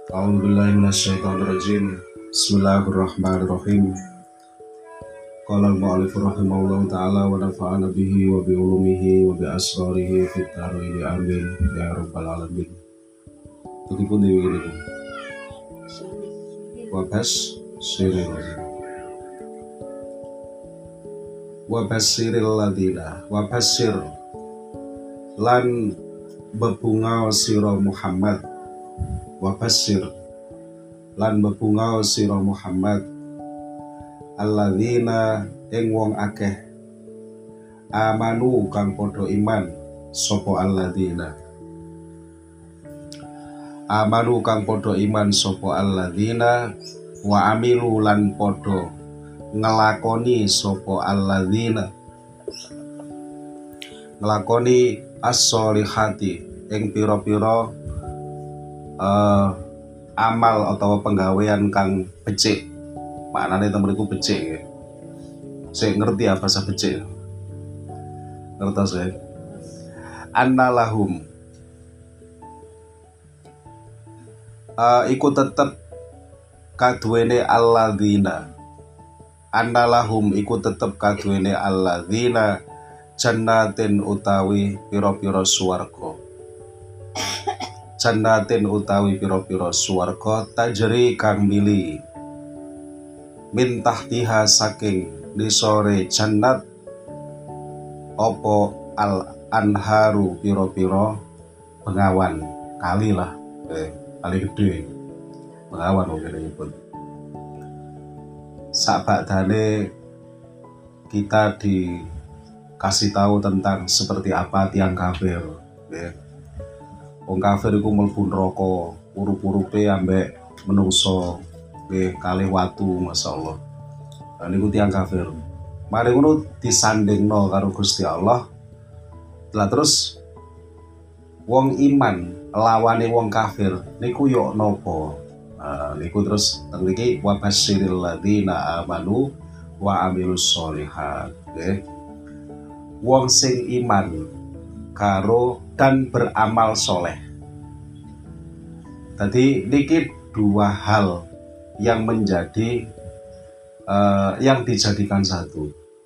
A'udzubillahi minasyaitonirrajim. Bismillahirrahmanirrahim. Qala al-mu'allif rahimahullahu ta'ala wa nafa'ana bihi wa bi ulumihi wa bi asrarihi fid dharain amin ya rabbal alamin. Begipun dewi ini. Wa basiril ladina wa basir lan bebunga sira Muhammad wa basir lan bebunga sira Muhammad alladzina ing wong akeh amanu kang padha iman sapa alladzina amanu kang padha iman sapa alladzina wa amilu lan padha ngelakoni sapa alladzina ngelakoni as-sholihati ing pira-pira amal atau penggawean kang becik. Maknane temen iku becik ya. Saya ngerti apa bahasa becik. Ngertos ya. Annalahum iku tetep kaduwene alladzina. Annalahum iku tetep kaduwene alladzina jannatin utawi pira-pira swarga. Jannatin utawi pira-pira swarga tajri kang mili min tahtiha saking nisore jannat opo al anharu pira-pira bengawan kali lah kali gede bengawan mungkin pun sabadane kita dikasih tahu tentang seperti apa tiang kafir ya. Wong kafir iku mlebu neraka urup-urupe ambek menungso kalih watu masyaallah. Lan niku tiang kafir. Mari ngono disandingno karo Gusti Allah. Lah terus wong iman lawane wong kafir niku yo napa? Niku terus teng mriki wa basyiril ladzina amanu wa amilus sholihat nggih. Wong sing iman karo dan beramal soleh. Tadi niki dua hal yang menjadi yang dijadikan satu.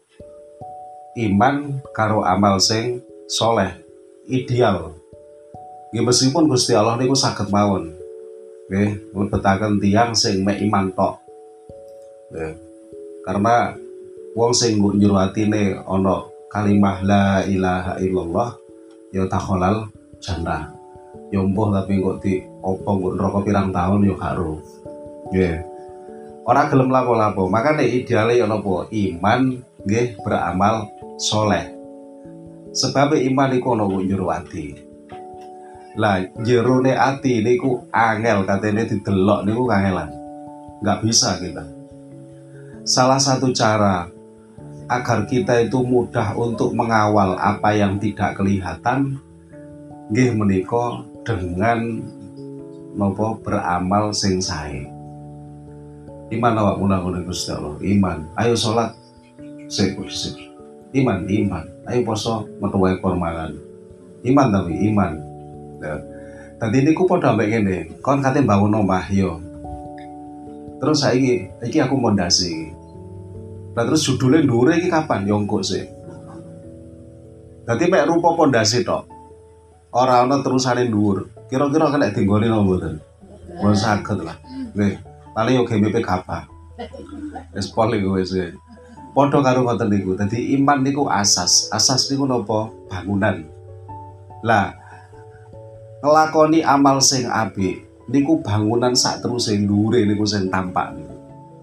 Iman karo amal sing soleh ideal. Nggih meskipun Gusti Allah niku saged mawon. Nggih, mlebetaken tiyang sing mek iman tok. Nggih. Karena wong sing mbok njero atine ana kalimah la ilaha illallah ya takholal jannah. Ya mbuh tapi kok di opo kok neraka pirang tahun ya gak ro. Nggih. Ora gelem lapo-lapo. Makane ideale ya napa? Iman nggih beramal soleh. Sebab iman iku ana kok njero ati. Lah jerone ati niku angel katene didelok niku kangelan. Enggak bisa kita. Salah satu cara agar kita itu mudah untuk mengawal apa yang tidak kelihatan nggih menika dengan napa beramal sing sae. Iman awak munah-munah Gusti Allah. Iman. Ayo salat sik. Iman. Ayo poso metu wae kormalan. Iman tapi iman. Tadi niku padha ambek ngene, kon kate bangun omah yo. Terus saiki iki aku mondasi. Lah terus judule ndure iki kapan yo engko sik. Dadi mek rupa pondasi tok. Ora ana terusane dhuwur. Kira-kira kena dinggoni napa mboten? Mboten saged lah. Nggih, paling yo GMP kapal. Wis pol iku wis. Padha karo ngoten niku. Dadi iman niku asas. Asas niku napa? Bangunan. Lah ngelakoni amal sing apik niku bangunan sak teruse ndure niku sing tampak niku.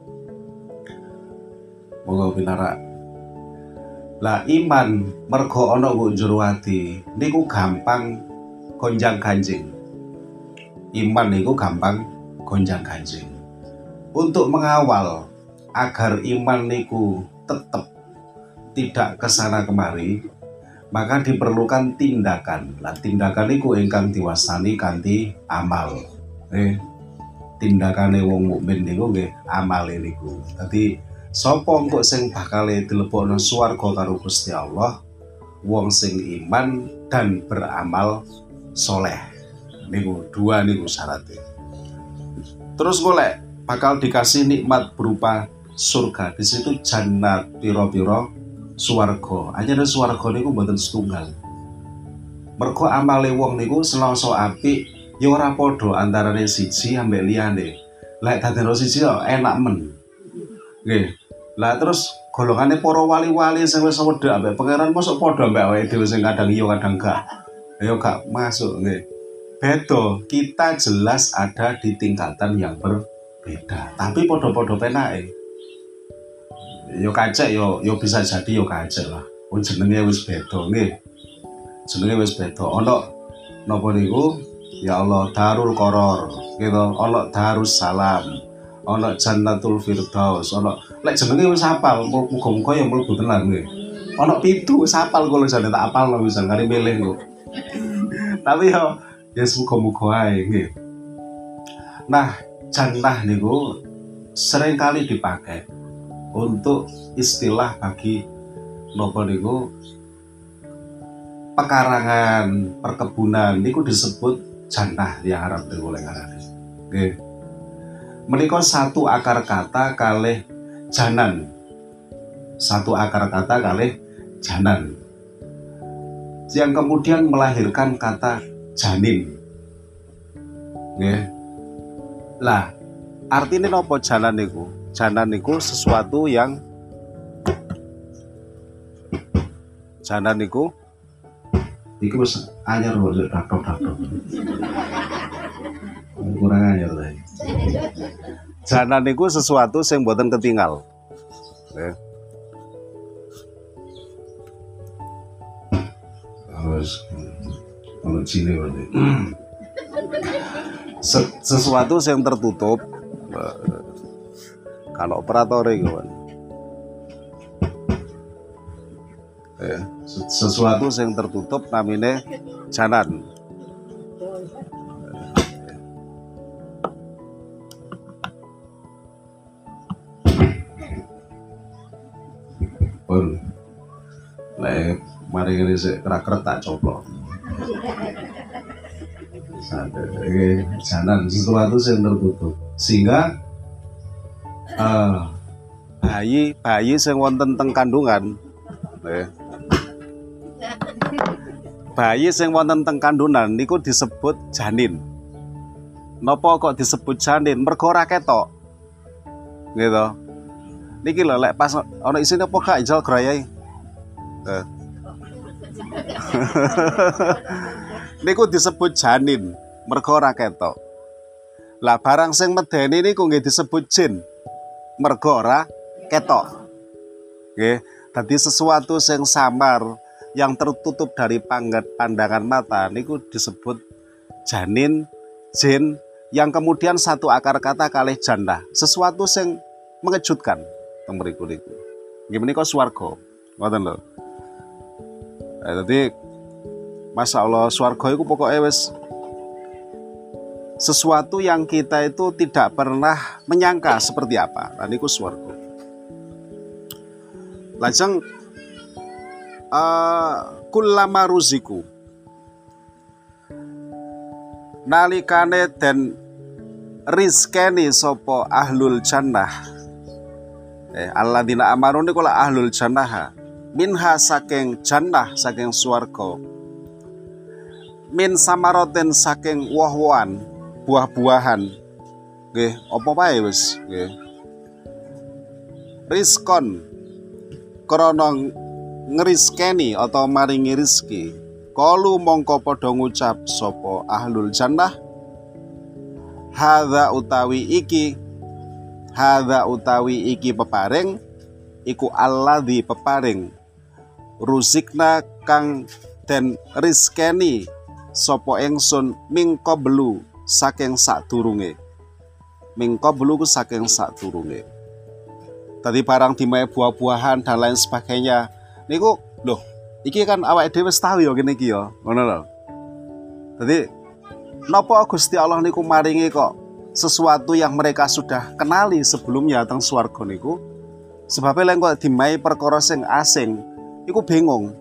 Monggo pinarak. Lah iman mergo ana kok jero ati niku gampang gonjang-ganjing. Iman niku gampang gonjang-ganjing. Untuk mengawal agar iman niku tetap tidak kesana kemari, maka diperlukan tindakan. Lah tindakan niku ingkang diwastani kanthi amal. Tindakane wong mukmin niku nggih amale niku. Dadi sapa engko sing bakale dilebokno swarga karo Gusti Allah? Wong sing iman dan beramal soleh. Niku dua niku syaratnya. Terus golek bakal dikasih nikmat berupa surga. Di situ jannat piro-piro swarga. Anyane swarga niku mboten setunggal. Mergo amale wong niku selasa apik ya ora padha antarane siji ambek liyane. Lek dadene siji yo enak men. Nggih. Lah terus golongane para wali-wali sing wis wedhek ambek pangeran mosok padha ambek awake dhewe sing kadang iya kadang gak. Ya gak masuk nggih. Beda, kita jelas ada di tingkatan yang berbeda, tapi podo-podo penake. Yo kacek yo bisa jadi yo kacek lah. Jenenge wis beda nggih. Jenenge wis beda. Ana napa niku? Ya Allah Darul Qoror, gitu. Ana Darus Salam, ana Jannatul Firdaus, ana lek jenenge wis hafal, muga-muga ya mlebu tenan nggih. Ana 7 wis hafal kula jane tak hafal lho wis kari milih kok. Tapi yo ya muga-muga ae nggih. Nah, jannah niku sering kali dipakai untuk istilah bagi napa niku pekarangan, perkebunan niku disebut jannah yang Arab niku lek ngarane. Nggih. Menika satu akar kata kalih janan. Satu akar kata kalih janan. Yang kemudian melahirkan kata janin. Nggih. Lah, artine napa janan niku? Janan niku sesuatu yang janan niku iki wis anyar lho dakok-dakok. Kurang anyar ta. Janan niku sesuatu sing mboten ketinggal. Nggih. Harus kalau Cina berarti sesuatu yang tertutup kalau operator kawan sesuatu yang tertutup namanya janan. Pun mari ini kerak-kerak tak coplok. Janan sesuatu yang tertutup sehingga bayi sing wonten teng kandungan bayi sing wonten teng kandungan niku disebut janin. Napa kok disebut janin? Mergo ora ketok. Gitu. Niki lho lek pas ana isine apa gak ijal grayai. Niku disebut janin, mergo ora ketok. Lah barang sing medeni niku nggih disebut jin, mergo ora ketok. Nggih, dadi sesuatu sing samar yang tertutup dari pandangan mata niku disebut janin, jin, yang kemudian satu akar kata kalih jannah, sesuatu sing mengejutkan teng mriku niku. Nggih menika swarga. Ngoten lho. Dadi Masya Allah, swarga itu pokoknya wis sesuatu yang kita itu tidak pernah menyangka seperti apa. Nah niku swarga. Lajeng kullama ruziku nalikane den rizkeni sopo ahlul jannah alladzina amanu niku la ahlul jannah minha saking jannah saking swarga min samaroten saking woh-wohan buah-buahan nggih apa wae wis nggih rizkon krana ngriskeni atau maringi rizki kalu mongko padha ngucap sapa ahlul jannah hadza utawi iki peparing iku alladzi peparing ruzikna kang den rizkeni sapa ingsun mingko belu saking sadurunge. Mingko belu ku saking sadurunge. Tadi barang dimae buah-buahan dan lain sebagainya. Niku lho, iki kan awake dhewe wis tau ya kene iki ya, ngono lho. Dadi napa Gusti Allah niku maringi kok sesuatu yang mereka sudah kenali sebelumnya teng swarga niku? Sebabnya lek kok dimae perkara sing asing, iku bingung.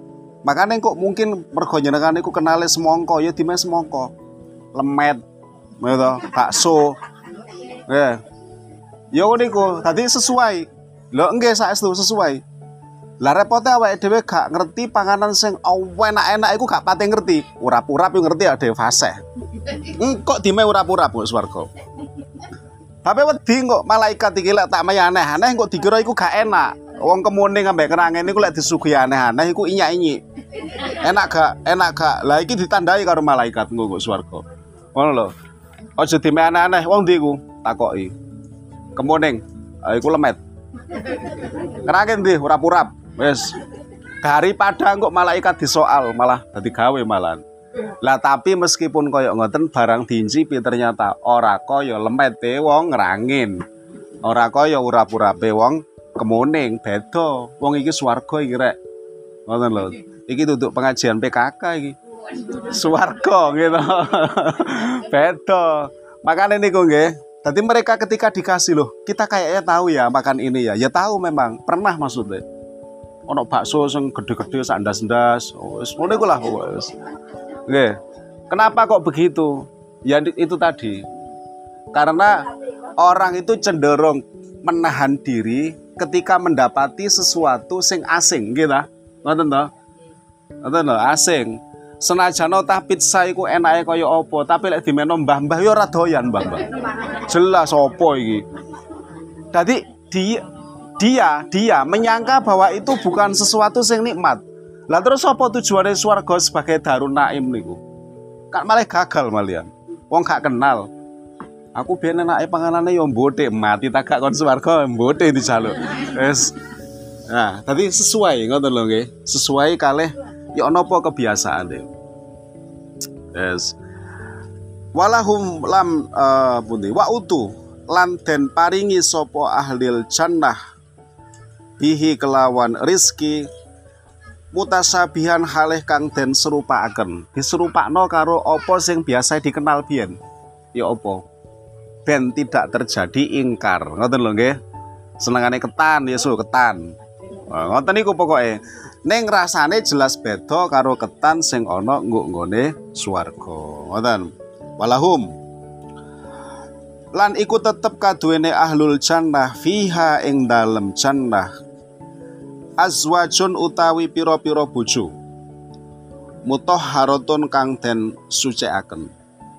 Makanya kok mungkin mergo jenengan niku kenale semongko ya dimae semongko. Lemet gitu, bakso. Nggih. Ya niku, tadi sesuai. Lho nggih saestu sesuai. Lah repote awake dhewe gak ngerti panganan sing enak-enak iku gak pati ngerti. Urap-urap yo ngerti ade fasih. Kok dime urap-urap kok swarga. Tapi wedi kok malaikat iki lek tak maya aneh-aneh kok dikira iku gak enak. Wong kemune ngambek kerangen niku lek disuguhi aneh-aneh iku inyak-inyik. Enak gak? Enak gak? Lah iki ditandai karo malaikat engko kok swarga. Ngono lho. Aja dime aneh-aneh wong ndi iku? Takoki. Kemuning. Iku lemet. Kerangen ndi urap-urap. Wes daripada kok malaikat disoal malah dadi gawe malan. Lah tapi meskipun koyo ngoten barang diincipi ternyata ora koyo lemete wong ngrangin. Ora koyo urap-urape wong kemuning, beda. Wong iki swarga iki rek. Ngoten lho. Iki duduk pengajian PKK iki. Swarga gitu. Beda. Makane niku nggih. Tadi mereka ketika dikasih loh, kita kayaknya tahu ya makan ini ya. Ya tahu memang, pernah maksudnya. Ono bakso sing gede-gede sak ndas-ndas. Wis ngono iku lah wis. Nggih. Kenapa kok begitu? Ya itu tadi. Karena orang itu cenderung menahan diri ketika mendapati sesuatu sing asing, nggih ta? Ngoten to? Ngoten lho, asing. Senajan tah pizza iku enake kaya apa, tapi lek dimeno mbah-mbah ya ora doyan, mbah-mbah. Jelas apa iki. Dadi dia menyangka bahwa itu bukan sesuatu yang nikmat. Lah terus apa tujuannya swarga sebagai Darun Naim niku? Kan malah gagal malian. Wong gak kenal. Aku biyen enake panganane yo mbothik, mati tak gak kon swarga mbothik dijaluk. Wis. Nah, tadi sesuai ngoten lho nggih. Sesuai kalih ya napa kebiasaane. Yes. Walahum lam pundi wa utu lan den paringi sapa ahlil jannah bihi kelawan rizki mutasabihan halih kang den serupaaken. Diserupakno karo apa sing biasa dikenal biyen. Ya apa? Ben tidak terjadi ingkar. Ngoten lho nggih. Senengane ketan ya ketan. Ngoten niku pokoke. Ning rasane jelas beda karo ketan sing ana nggone swarga. Ngoten. Walahum lan iku tetep kaduwene ahlul jannah fiha ing dalem jannah azwajun utawi pira-pira bojo mutahharatun kang den sucikaken.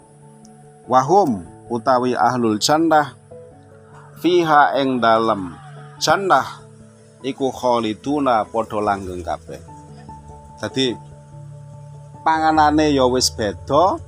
Wahum utawi ahlul jannah fiha ing dalem jannah iku khaliduna padha langgeng kabeh. Dadi panganane ya wis beda,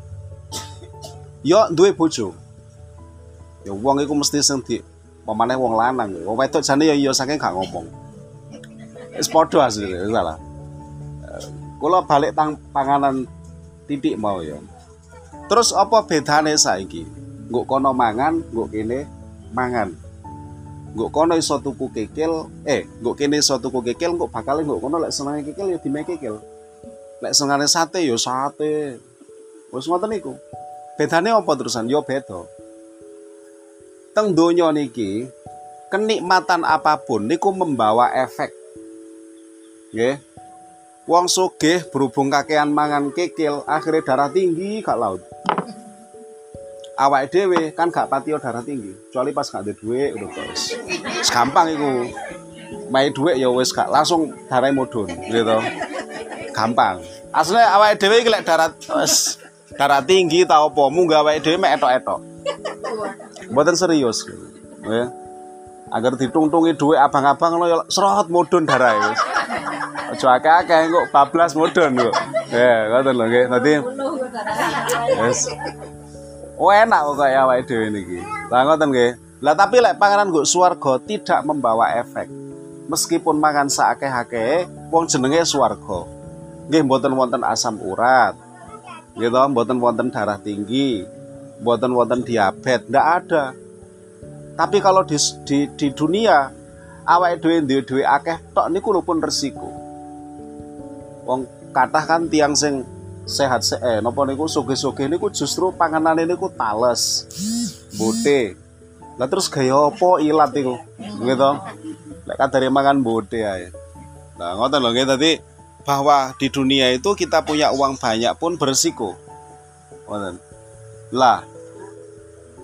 ya duwe bojo. Ya wong iku mesti sing di pamane wong lanang. Wong wedok jane ya iya saking gak ngomong. Wis padha asline salah. Kula balik tang panganan titik mau ya. Terus apa bedane saiki? Nggo kono mangan, nggo kene mangan. Nggo kono iso tuku kikil, nggo kene iso tuku kikil, nggo bakal nggo kono lek senenge kikil ya dime kikil. Lek senengane sate ya sate. Wis ngoten niku. Bedane apa terusan? Ya beda. Teng donya niki kenikmatan apapun niku membawa efek. Nggih. Wong sugih berhubung kakean mangan kikil, akhirnya darah tinggi gak laut. Awake dhewe kan gak patio darah tinggi, kecuali pas gak ada duit udah terus. Gampang iku. Mai duit ya wis gak langsung darah mudhun gitu. Gampang. Asline awake dhewe iki lek darah tinggi ta apa munggah awake dhewe mek etok-etok. Mboten serius. Ya. Agar ditungtungi duit abang-abang lo ya serot mudhun darah wis. Aja akeh-akeh kok bablas mudhun kok. Ya, ngoten lho nggih. Dadi wis. Enak kok kaya awake dhewe niki. Lah ngoten nggih. Lah tapi lek panganan nggo swarga tidak membawa efek. Meskipun mangan saakeh-akeh wong jenenge swarga. Nggih mboten wonten asam urat. Gitu, mboten wonten darah tinggi, mboten wonten diabetes, ndak ada. Tapi kalau di dunia awake dhewe akeh tok niku lho pun resiko. Wong kathah kan tiang sing sehat napa niku sugih-sugih niku justru panganane niku tales. Bote. Lah terus gaya apa ilat iku? Gitu. Lek kadare mangan bote ae. Nah, ngoten lho nggih tadi bahwa di dunia itu kita punya uang banyak pun beresiko. Ngoten. Lah,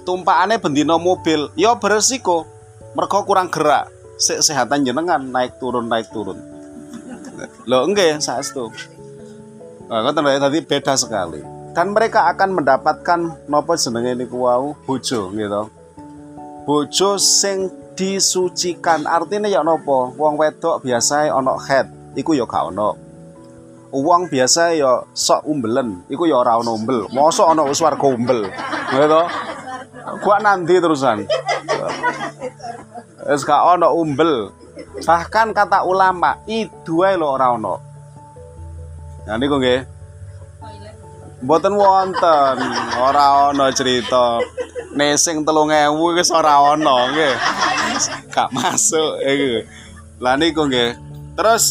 tumpakane bendino mobil ya beresiko mergo kurang gerak. Kesehatan jenengan naik turun. Lho nggih saestu. Ngoten lho dadi beda sekali. Dan mereka akan mendapatkan napa jenenge niku wau bojo gitu. Bojo sing disucikan. Artinya ya napa? Wong wedok biasa ana head, iku ya gak ana. Wong biasa ya sok umbelen, iku ya ora ana umbel. Mosok ana swarga umbel. Gitu. Gua nanti terusan. Wis gak ana umbel. Bahkan kata ulama, idu ae lho ora ana. Nah niku nggih. Mboten wonten, ora ana cerita. Nesing 3.000 wis ora ana nggih. Gak masuk iku. Lah niku nggih. Terus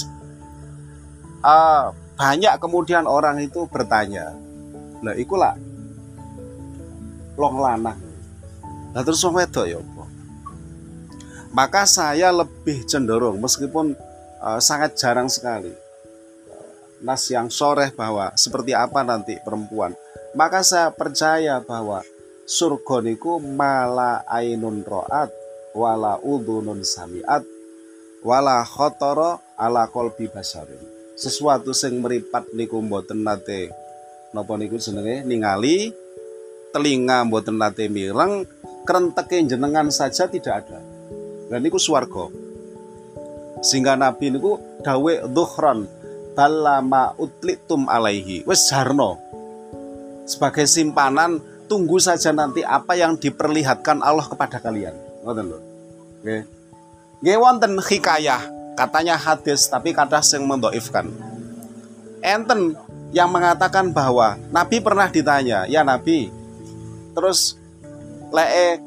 banyak kemudian orang itu bertanya. Lah iku lah long lanang. Lah terus wong wedok ya apa? Maka saya lebih cenderung meskipun sangat jarang sekali nas yang soreh bahwa seperti apa nanti perempuan. Maka saya percaya bahwa surga niku mala ainun ro'at wala udhunun sami'at wala khotoro ala qalbi basharin. Sesuatu sing meripat niku mboten nate napa niku jenenge ningali, telinga mboten nate mireng, krenteke jenengan saja tidak ada. Dan niku swarga. Sehingga Nabi niku dawe dhuhran balama utlitum alaihi. Wis jarno. Sebagai simpanan, tunggu saja nanti apa yang diperlihatkan Allah kepada kalian. Ngoten lho. Nggih. Nggih wonten hikayah, katanya hadis tapi kadang sing mendhaifkan. Enten yang mengatakan bahwa Nabi pernah ditanya, "Ya Nabi, terus leke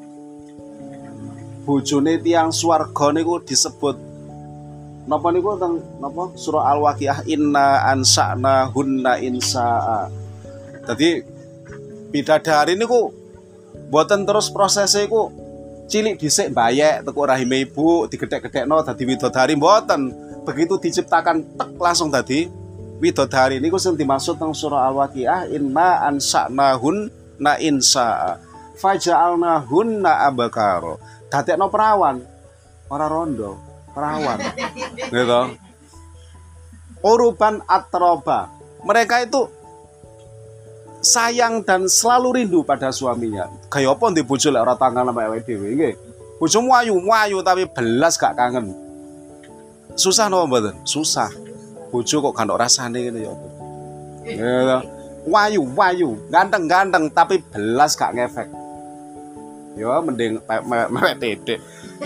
bojone tiyang swarga niku disebut napa niku teng napa surah Al-Waqiah inna ansa'na hunna insa'a." Jadi bidadari niku mboten terus prosesnya iku cilik dhisik mbayek teko rahime ibu digedhek-gedhekno dadi widodari mboten. Begitu diciptakan tek langsung dadi widodari. Niku sing dimaksud teng surah Al-Waqiah inna ansa'nahunna insa'a faja'alnahunna abakara. Dadekno perawan ora rondo, perawan. Gitu. Uruban atroba. Mereka itu sayang dan selalu rindu pada suaminya. Kaya apa ndek bojo lek ora tangan sama awake dhewe nggih. Bojomu ayu tapi belas gak kangen. Susah napa mboten? Susah. Bojo kok gak ono rasane ngene ya apa. Ya. Wayu, ganteng tapi belas gak ngefek. Ya mending mewek titik.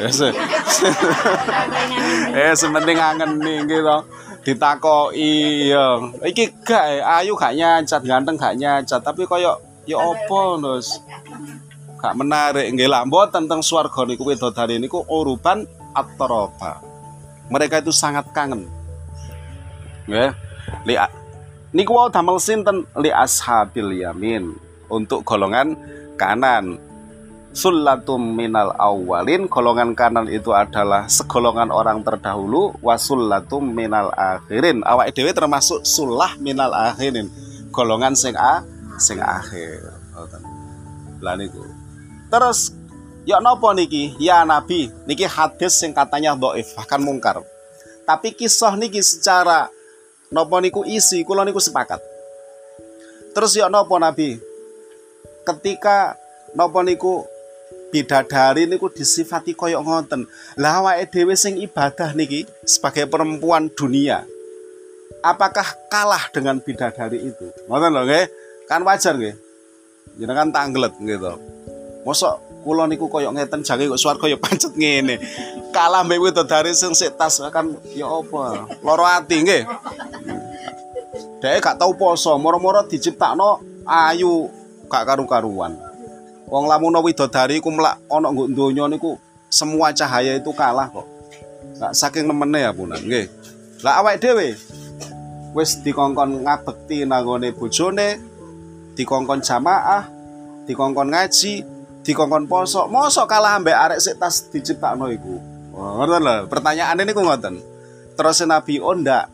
Sementing ngangeni gitu. Ditakoki ya. Iki gak ayu gak nyancat, ganteng gak nyancat, tapi koyo ya apa Nus? Gak menarik nggih lah mboten teng swarga niku widodari niku uruban atroba. Mereka itu sangat kangen. Nggih. Niku wau damel sinten li ashabil yamin untuk golongan kanan. Sullatum minal awwalin, golongan kanan itu adalah segolongan orang terdahulu, wasullatum minal akhirin. Awake dhewe termasuk sulah minal akhirin, golongan sing akhir. Lah niku. Terus ya napa niki? Ya Nabi, niki hadis sing katanya dhaif, bahkan mungkar. Tapi kisah niki secara napa niku isi kula niku sepakat. Terus ya napa Nabi? Ketika napa niku bidadari niku disifati koyok ngoten. Lah awake dhewe sing ibadah niki sebagai perempuan dunia, apakah kalah dengan bidadari itu? Ngoten lho nggih. Kan wajar nggih. Jenengan tanglet gitu. Mosok kula niku koyok ngeten jange kok swarga ya pancet ngene. Kalah mbek bidadari sing sik tas kan ya apa? Loro ati nggih. Dhek gak tau poso, moro-moro diciptakno ayu gak karu-karuan. Wong lamun widodari ku mlak ana nggo donya niku semua cahaya itu kalah kok. Gak saking nemene ya punan nggih. Lah awake dhewe wis dikongkon ngabekti nanggone bojone, dikongkon jamaah, dikongkon ngaji, dikongkon poso. Mosok kalah ambek arek sik tas diciptakno iku. Ngoten lho, pertanyaane niku ngoten. Terus Nabi ndak.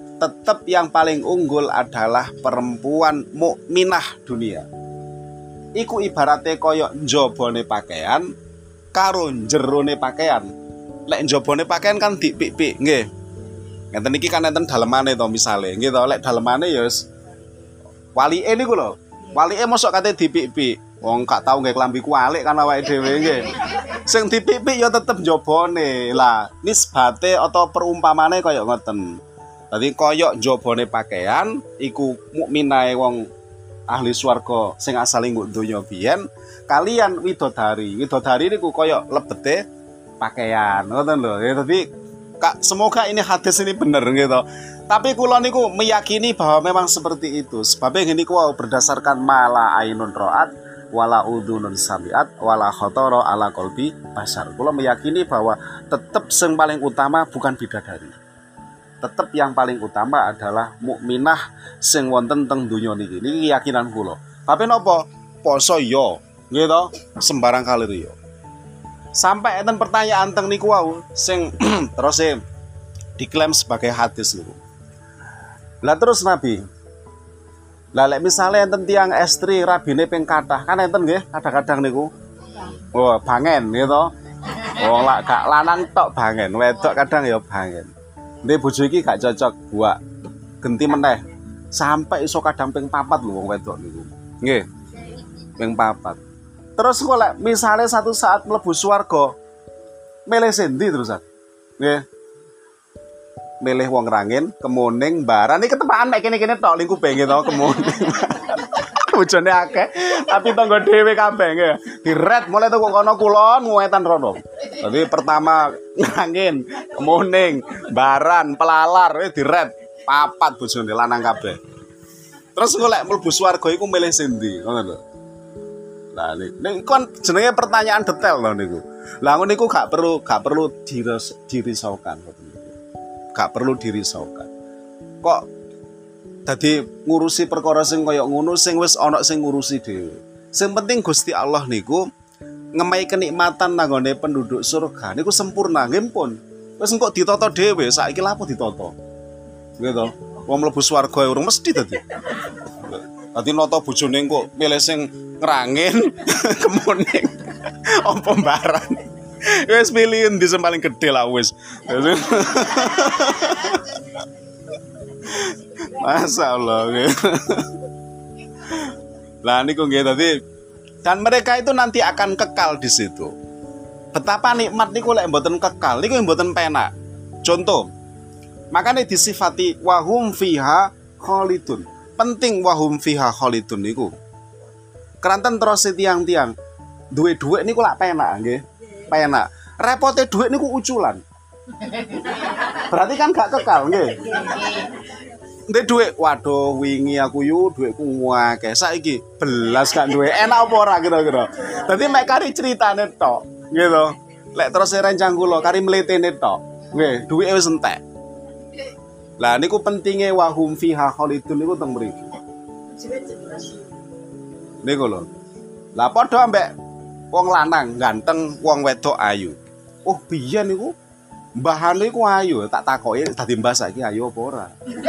Tetap yang paling unggul adalah perempuan mukminah dunia. iku ibarate kaya njabane pakaian karo jerone pakaian. Lek njabane pakaian kan dipik-pik, nggih. Ngeten iki kan enten dalemane to misale, nggih to. Lek dalemane ya wis walike niku lho. Walike mosok kate dipik-pik. Wong gak tau nggih klambi kualik kan awake dhewe nggih. Sing dipik-pik ya tetep njabane. Lah, nisbate atau perumpamane kaya ngoten. Dadi kaya njabane pakaian iku mukminae wong ahli swarga sing asale nggo donya biyen kalian widodari. Widodari niku kaya lebete pakaian. Ngoten lho. Ya dadi semoga ini hadis ini bener gitu. Tapi kula niku meyakini bahwa memang seperti itu. Sebabnya gini ku berdasarkan mala ainun ro'at wala udhunun sami'at wala khotoro ala qalbi bashar. Kula meyakini bahwa tetap yang paling utama bukan bidadari. Tetap yang paling utama adalah mukminah sing wonten teng donya niki. Niki keyakinan kula. Tapi napa? Poso yo, gitu. Sembarang kalir yo. Sampai enten pertanyaan teng niku wau sing terus diklaim sebagai hadis niku. Lah terus Nabi. Lah lek misale enten tiyang estri rabine ping kathah kan enten nggih kadang-kadang niku. Oh, bangen gitu. Oh, lak gak lanang tok bangen, wedok kadang ya bangen. Ndek bojo iki gak cocok buat genti meneh. Sampai iso kadang ping 4 lho wong wedok niku. Nggih. Ping 4. Terus kok lek misale satu saat mlebu swarga milih sendi terusan. Nggih. Milih wong rangin, kemuning, baran. Iki ketepaan mek kene-kene tok lingkupe nggih to, kemuning. Bojone akeh, tapi tangga dhewe kabeh nggih. Diret mulai teko kono kulon nguwetan rono. Dadi pertama rangin, kemuning, baran, pelalar diret. Papat bojone lanang kabeh. Terus golek mlebu swarga iku milih sendi, ngono lho. Lah niku kan jenenge pertanyaan detail lho niku. Lah ngono niku gak perlu dirisaukan. Gak perlu dirisaukan. Kok dadi ngurusi perkara sing kaya ngono sing wis ana sing ngurusi dhewe. Sing penting Gusti Allah niku ngemai kenikmatan nanggone penduduk surga niku sempurna nggih pun. Wis engko ditata dhewe, saiki lha apa ditata. Nggih to. Wong mlebu swarga urung mesti dadi. Dadi nata bojone engko milih sing ngrangin kemuning apa mbaran. Wis pilih endi sing paling gedhe lah wis. Masyaallah. Lah niku nggih tadi dan mereka itu nanti akan kekal di situ. Betapa nikmat niku lek mboten kekal niku mboten penak. Contoh, makanya disifati wahum fiha khalidun. Penting wahum fiha khalidun niku. Keranten terus tiang-tiang duwe dhuwit niku lak penak nggih. Penak. Repote dhuwit niku uculan. Berarti kan gak kekal nggih. Ndek dhuwit, waduh wingi aku yu dhuwitku akeh. Saiki belas gak duwe. Enak apa ora kira-kira. Dadi mek kari critane tok, gitu. Lek terus rencang kula kari mletene tok. Nggih, dhuwite wis entek. Lah niku pentinge wahum fiha khalidun niku teng mriki. Niku lho. Lah padha ambek wong lanang ganteng, wong wedok ayu. Oh, biyen niku mbahane iku ayu, tak takoki dadi mbah saiki ayu apa ora.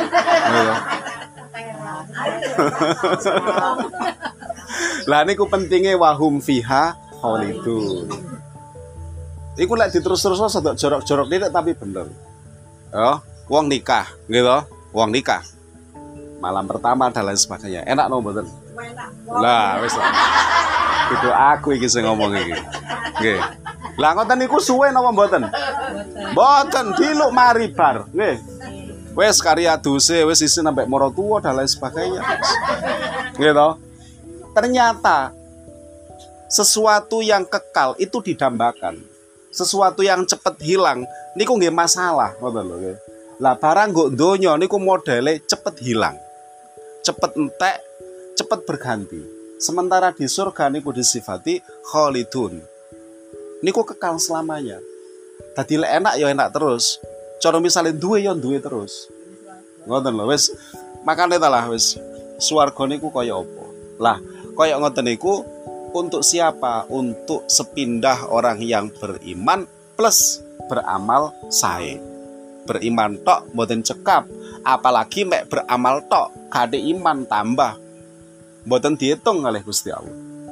Lah niku pentinge wahum fiha khalidun. Iku lek diterus-terus sedok jorok-jorok nih tapi bener. Oh, wong nikah, gitu. Wong nikah. Malam pertama dan lain sebagainya. Enak no mboten? Lah, wis lah. Itu aku iki sing ngomong iki. Nggih. Lah ngoten niku suwe napa mboten? Mboten, diluk mari bar. Nggih. Wis karya duse, wis isin sampai moro tuwa dan lain sebagainya. Gitu. Ternyata sesuatu yang kekal itu didambakan. Sesuatu yang cepet hilang niku nggih masalah, ngoten lho nggih. Lah barang nggo donya niku modele cepet hilang. Cepet entek, cepet berganti. Sementara di surga niku disifati khalidun. Niku kekal selamanya. Dadi lek enak ya enak terus. Cara misale duwe ya duwe terus. Ngoten lho wis. Makane ta lah wis swarga niku kaya apa? Lah, kaya ngoten niku untuk siapa? Untuk sepindah orang yang beriman plus beramal sae. Beriman tok mboten cekap, apalagi mek beramal tok kade iman tambah. Mboten diitung oleh Gusti Allah.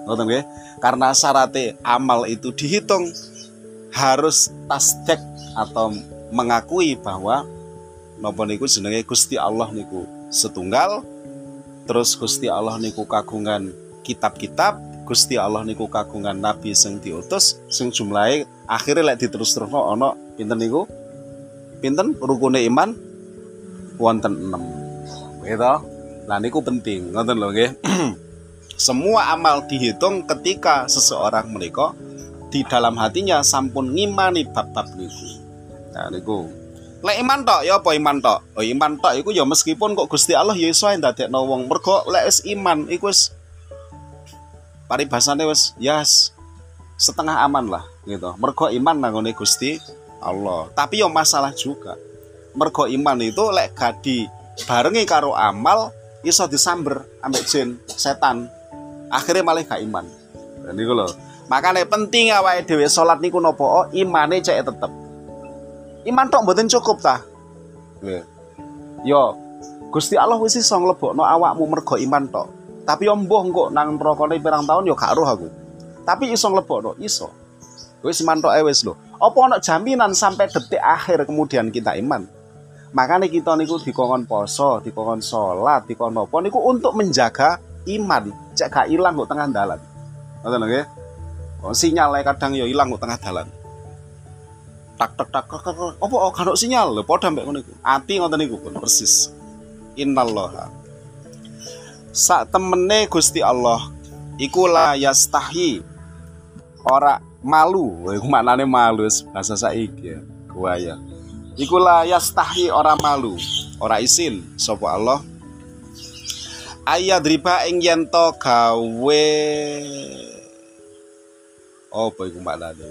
Ngoten nggih. Karena syaratnya amal itu dihitung harus tasdek atau mengakui bahwa napa niku jenenge Gusti Allah niku setunggal, terus Gusti Allah niku kagungan kitab-kitab, Gusti Allah niku kagungan nabi sing diutus sing jumlahe akhirnya lek diterus-terusno ana pinten niku? Pinten rukune iman? Wonten 6. Gitu. Lah niku penting, ngoten lho nggih. Semua amal dihitung ketika seseorang menika di dalam hatinya sampun ngimani bab-bab niku. Nah niku. Lek iman tok ya apa iman tok? Oh iman tok iku ya meskipun kok Gusti Allah ya iso ndadekno wong mergo lek wis iman iku wis paribasane wis yes, setengah aman lah gitu. Mergo iman nang ngene Gusti Allah. Tapi ya masalah juga. Mergo iman itu lek gak dibarengi karo amal iso disamber ambek jin, setan. Akhirnya malah gak iman. Dan niku lho. Makanya penting awake dhewe salat niku napa? Imane cek tetep. Iman tok mboten cukup ta? Nggih. Yo, Gusti Allah wis iso nglebokno awakmu mergo iman tok. Tapi yo mbuh engko nang nerakane pirang tahun yo gak roh aku. Tapi iso nglebokno, iso. Wis iman tok wis lho. Apa ana jaminan sampai detik akhir kemudian kita iman? Makanya kita niku dikongkon poso, dikongkon salat, dikongkon napa niku untuk menjaga iman, cek gak ilang kok tengah dalan. Ngoten lho nggih. Oh, sinyalnya kadang yo ilang kok tengah dalan. Tak tak tak apa kan sinyal lho padha mbek ngono iku. Ati ngoten niku pun persis. Innallaha. Sak temene Gusti Allah iku la yastahi. Ora malu, iku maknane malu bahasa saiki ya. Kuwaya. Iku la yastahi ora malu, ora isin sapa Allah. Ayadriba ing yen to gawe apa iku maknane?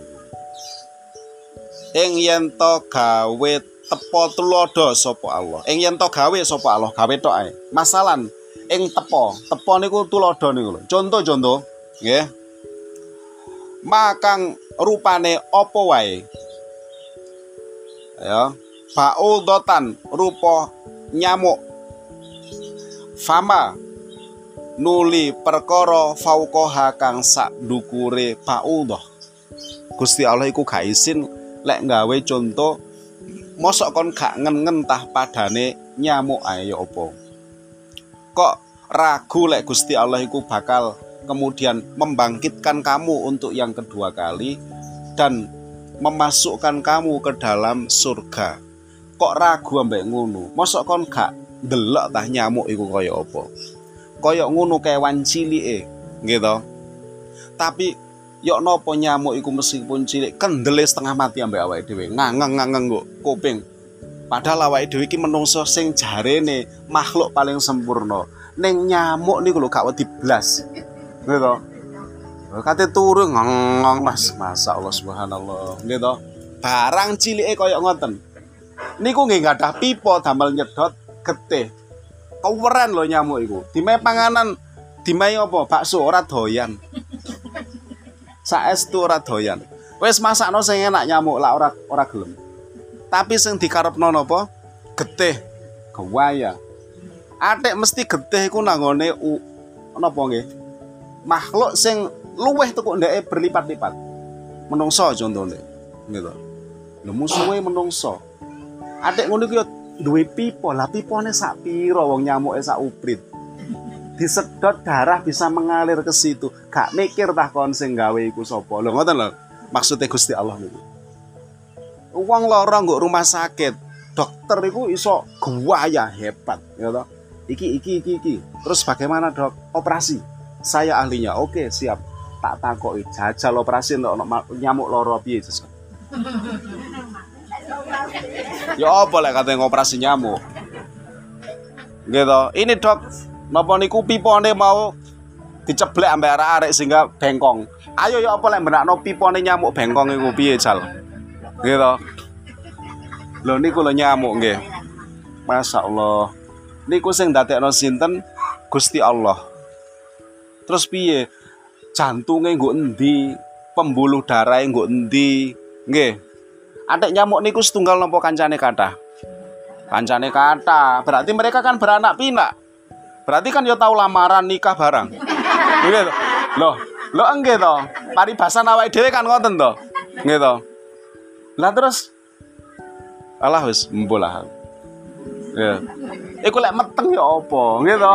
Ing yen to gawe tepo tulodo sapa Allah. Ing yen to gawe sapa Allah, gawe tok ae. Masalan ing tepo niku tulodo niku lho. Contoh-contoh, nggih. Makang rupane apa wae. Ya, baudotan rupa nyamuk. Fama nuli perkara fauqaha kang sak ndukure baudah. Gusti Allah iku gak isin lek gawe contoh mosok kon gak ngen-ngen tah padane nyamuk ae ya apa. Kok ragu lek Gusti Allah iku bakal kemudian membangkitkan kamu untuk yang kedua kali dan memasukkan kamu ke dalam surga. Kok ragu ambek ngono? Mosok kon gak ndelok tah nyamuk iku kaya apa? Kaya ngono kewan cilike, gitu. Tapi yok nopo nyamuk iku meskipun cilik kendele setengah mati ambek awake dhewe. Ngangeng kok kuping. Padahal awake dhewe iki menungso sing jarene makhluk paling sempurna. Ning nyamuk niku lho gak wedi blas. Gitu. Kate turu ngong Mas, masyaallah subhanallah. Gitu. Barang cilike kaya ngoten. Niku nggih gadah pipa damel nyedot getih. Keweren lho nyamuk iku. Dimae panganan, dimae apa? Bakso ora doyan. Saestu ora doyan. Wis masakno sing enak nyamuk lak ora gelem. Tapi sing dikarepno napa? Getih. Gawaya. Atik mesti getih iku nanggone napa nggih? Makhluk sing luweh tekuk ndeke berlipat-lipat. Menungso contone. Gitu. Lho musuhe menungso. Atik ngono iki duwe pipa, lah pipane sak pira wong nyamuke sak uprit. Disedot darah bisa mengalir ke situ. Gak mikir tah kon sing gawe iku sapa. Lho ngoten lho. Maksude Gusti Allah niku. Wong lara nggo rumah sakit, dokter iku iso gawaya hebat, ya toh. Iki. Terus bagaimana, Dok? Operasi. Saya ahlinya. Oke, siap. Tak takoki jajal operasi untuk nyamuk lara piye, Jas? Ya apa lek katanya ngoperasi nyamuk. Gitu. Ini Dok, napa niku pipane mau diceblek ambek arek-arek sehingga bengkong. Ayo ya apa lek benakno pipane nyamuk bengkong iku piye, Jal? Gitu. Lho niku lho nyamuk nggih. Masyaallah. Niku sing ndadekno sinten? Gusti Allah. Terus piye? Jantunge nggo endi? Pembuluh darahe nggo endi? Nggih. Adik nyamuk niku setunggal napa kancane kathah? Kancane kathah. Berarti mereka kan beranak pinak. Berarti kan ya tahu lamaran nikah barang. Gitu. Loh, Lho nggih to. Paribasan awake dhewe kan ngoten to. Nggih to. Lah terus alah wis mbolah. Ya. Iku lek meteng ya apa? Nggih to.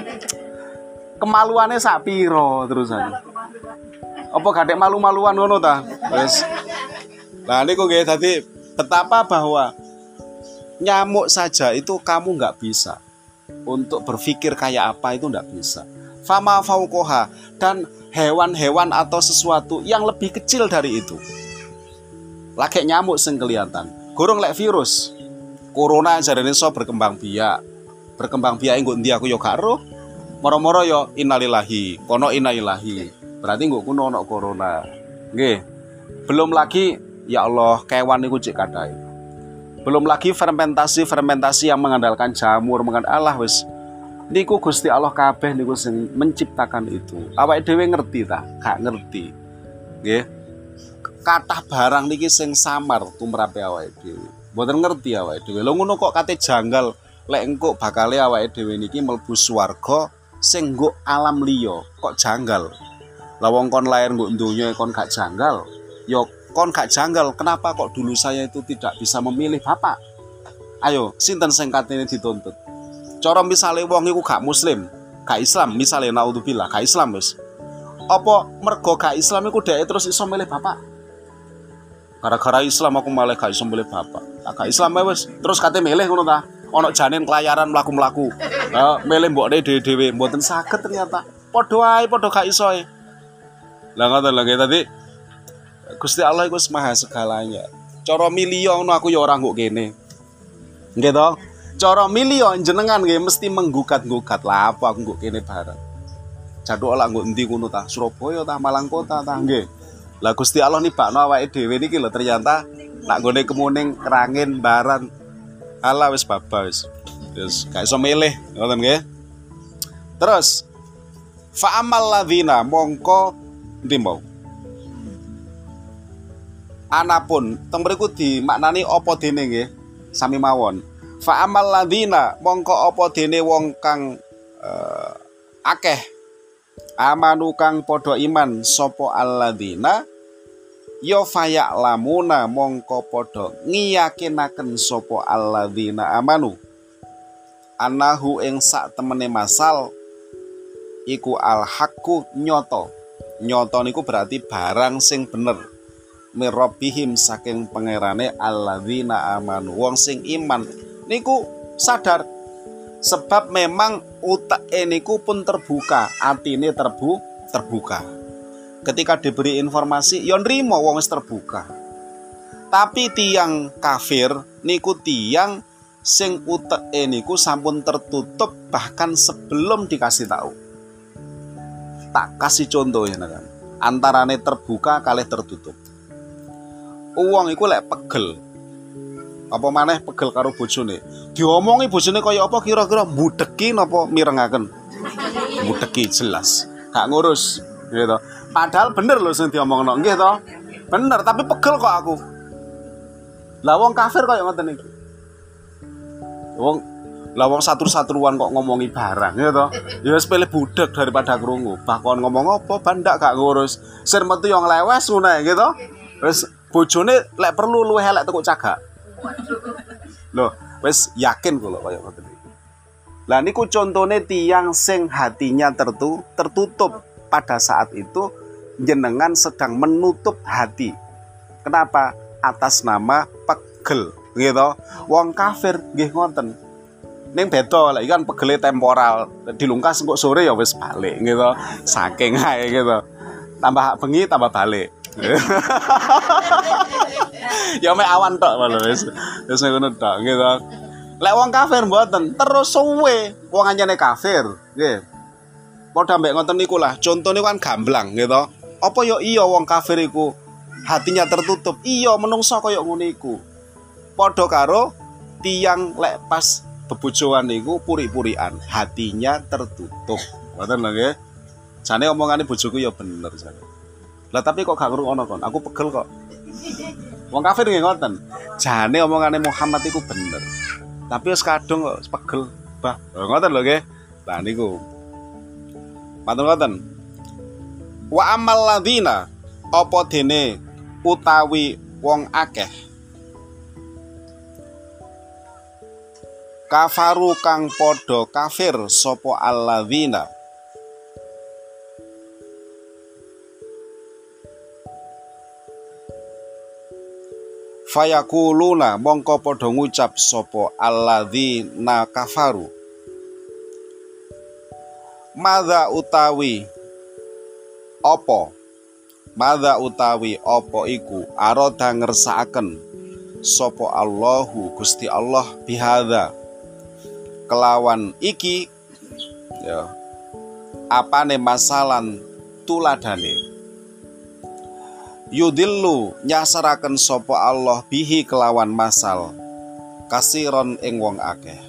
Kemaluane sak piro terusan. Apa gadek malu-maluan ngono ta? Wis. Nah niku nggih dadi betapa bahwa nyamuk saja itu kamu nggak bisa untuk berpikir kayak apa, itu nggak bisa. Fama faukoha, dan hewan-hewan atau sesuatu yang lebih kecil dari itu. Lagi nyamuk sing kelihatan. Gorong lek virus. Corona jarene iso berkembang biak. Berkembang biak engko endi aku yo gak ero. Moro-moro yo innalillahi, kono innalillahi. Berarti engko kuno ono corona. Nggih. Belum lagi ya Allah kewan niku cek kadhae. Belum lagi fermentasi yang mengandalkan jamur, Allah wis niku Gusti Allah kabeh niku sing menciptakan itu. Awake dhewe ngerti ta? Gak ngerti. Nggih. Kathah barang niki sing samar tumrape awake dhewe. Mboten ngerti awake dhewe. Lho ngono kok kate janggal lek engko bakale awake dhewe niki mlebu swarga sing nggo alam liya. Kok janggal? Lah wong kon lair nggo donya kon gak janggal. Yo kon gak janggal, kenapa kok dulu saya itu tidak bisa memilih bapak? Ayo, sinten sing katene dituntut? Cara misale wong iku gak muslim, gak Islam, misale naudzubillah, gak Islam wis. Apa mergo gak Islam iku dhek terus iso milih bapak? Gara-gara Islam aku malah gak iso milih bapak. Gak Islam wis, terus kate milih ngono ta? Ana janin kelayaran mlaku-mlaku. Lah milih mbokne dhewe-dhewe mboten saged ternyata. Padha wae padha gak iso e. Lah ngoten lho tadi Gusti Allah iku maha segalanya. Cara milih ngono aku ya ora nggo kene. Nggih to? Cara milih jenengan nggih mesti menggugat-gugat lah apa aku nggo kene bareng. Jaduk lak nggo endi ngono ta? Surabaya ta, Malang Kota ta nggih. Lah Gusti Allah nibakno awake dhewe niki lho ternyata nak nggone Kemuning, Kerangin, Baran. Allah wis babas wis. Wis gak iso milih, ngoten nggih. Terus fa amal ladzina mongko endi mau? Anapun teng mriku dimaknani apa dene nggih sami mawon. Fa amal ladzina mongko apa dene wong kang akeh amanu kang padha iman sapa alladzina ya faya'lamuna mongko padha ngiyakinaken sapa alladzina amanu anahu ing sak temene masal iku al haqqu nyoto. Nyoto niku berarti barang sing bener. Mirobihim saking pangerane alladzina amanu wong sing iman niku sadar sebab memang utake niku pun terbuka, atine terbuka. Ketika diberi informasi ya nrimo wong wis terbuka. Tapi tiang kafir niku tiang sing utake niku sampun tertutup bahkan sebelum dikasih tahu. Tak kasih contoh ya kan. Antarane terbuka kalih tertutup. Uang iku lek pegel. Apa maneh pegel karo bojone. Diomongi bojone kaya apa kira-kira mbudeki napa mirengaken? Mbudeki jelas. Gak ngurus gitu. Padahal bener lho sing diomongno nggih to. Bener tapi pegel kok aku. Lah wong kafir kaya ngoten iki. Wong satru-satruan kok ngomongi barang ya to. Ya wis pilih budek daripada krungu. Bakon ngomong apa bandak gak ngurus. Sir metu yo nglewes ngono gitu. Wis bojone lek perlu luwih elek tekuk cagak. Loh, wis yakin kula kaya ngoten iki. Lah niku contone tiyang sing hatinya tertutup pada saat itu jenengan sedang menutup hati. Kenapa? Atas nama pegel, gitu. Wong kafir nggih ngoten. Ning beda lek kan pegele temporal, dilungkas engko sore ya wis balik gitu. Saking ae gitu. Tambah bengi tambah balik. Ya mek awan tok lho wis ngono tok gitu. Lek wong kafir mboten terus suwe wong anyane kafir nggih. Padha mbek ngoten niku lah contone kan gamblang gitu. Apa ya iya wong kafir iku hatinya tertutup? Iya menungso kaya ngono iku. Padha karo tiyang lek pas bebojoan niku puri-purian hatinya tertutup. Ngoten lho nggih. Jane omongane bojoku ya bener jane. Lah tapi kok gak ngrungokno kon? Aku pegel kok. Wong kafir nggih ngoten. Jane omongane Muhammad iku bener. Tapi wis kadung kok pegel. Bah, ngoten lho nggih. Lah niku. Matur ngoten. Wa amal ladzina apa dene utawi wong akeh kafaru kang padha kafir sapa alladzina fayakuluna mongko padha ngucap sapa alladzina kafaru madza utawi apa iku arada ngersakaken sapa Allahu Gusti Allah bihadza kelawan iki ya apane masalan tuladane yudillu nyasaraken sapa Allah bihi kelawan masal kasiron ing wong akeh.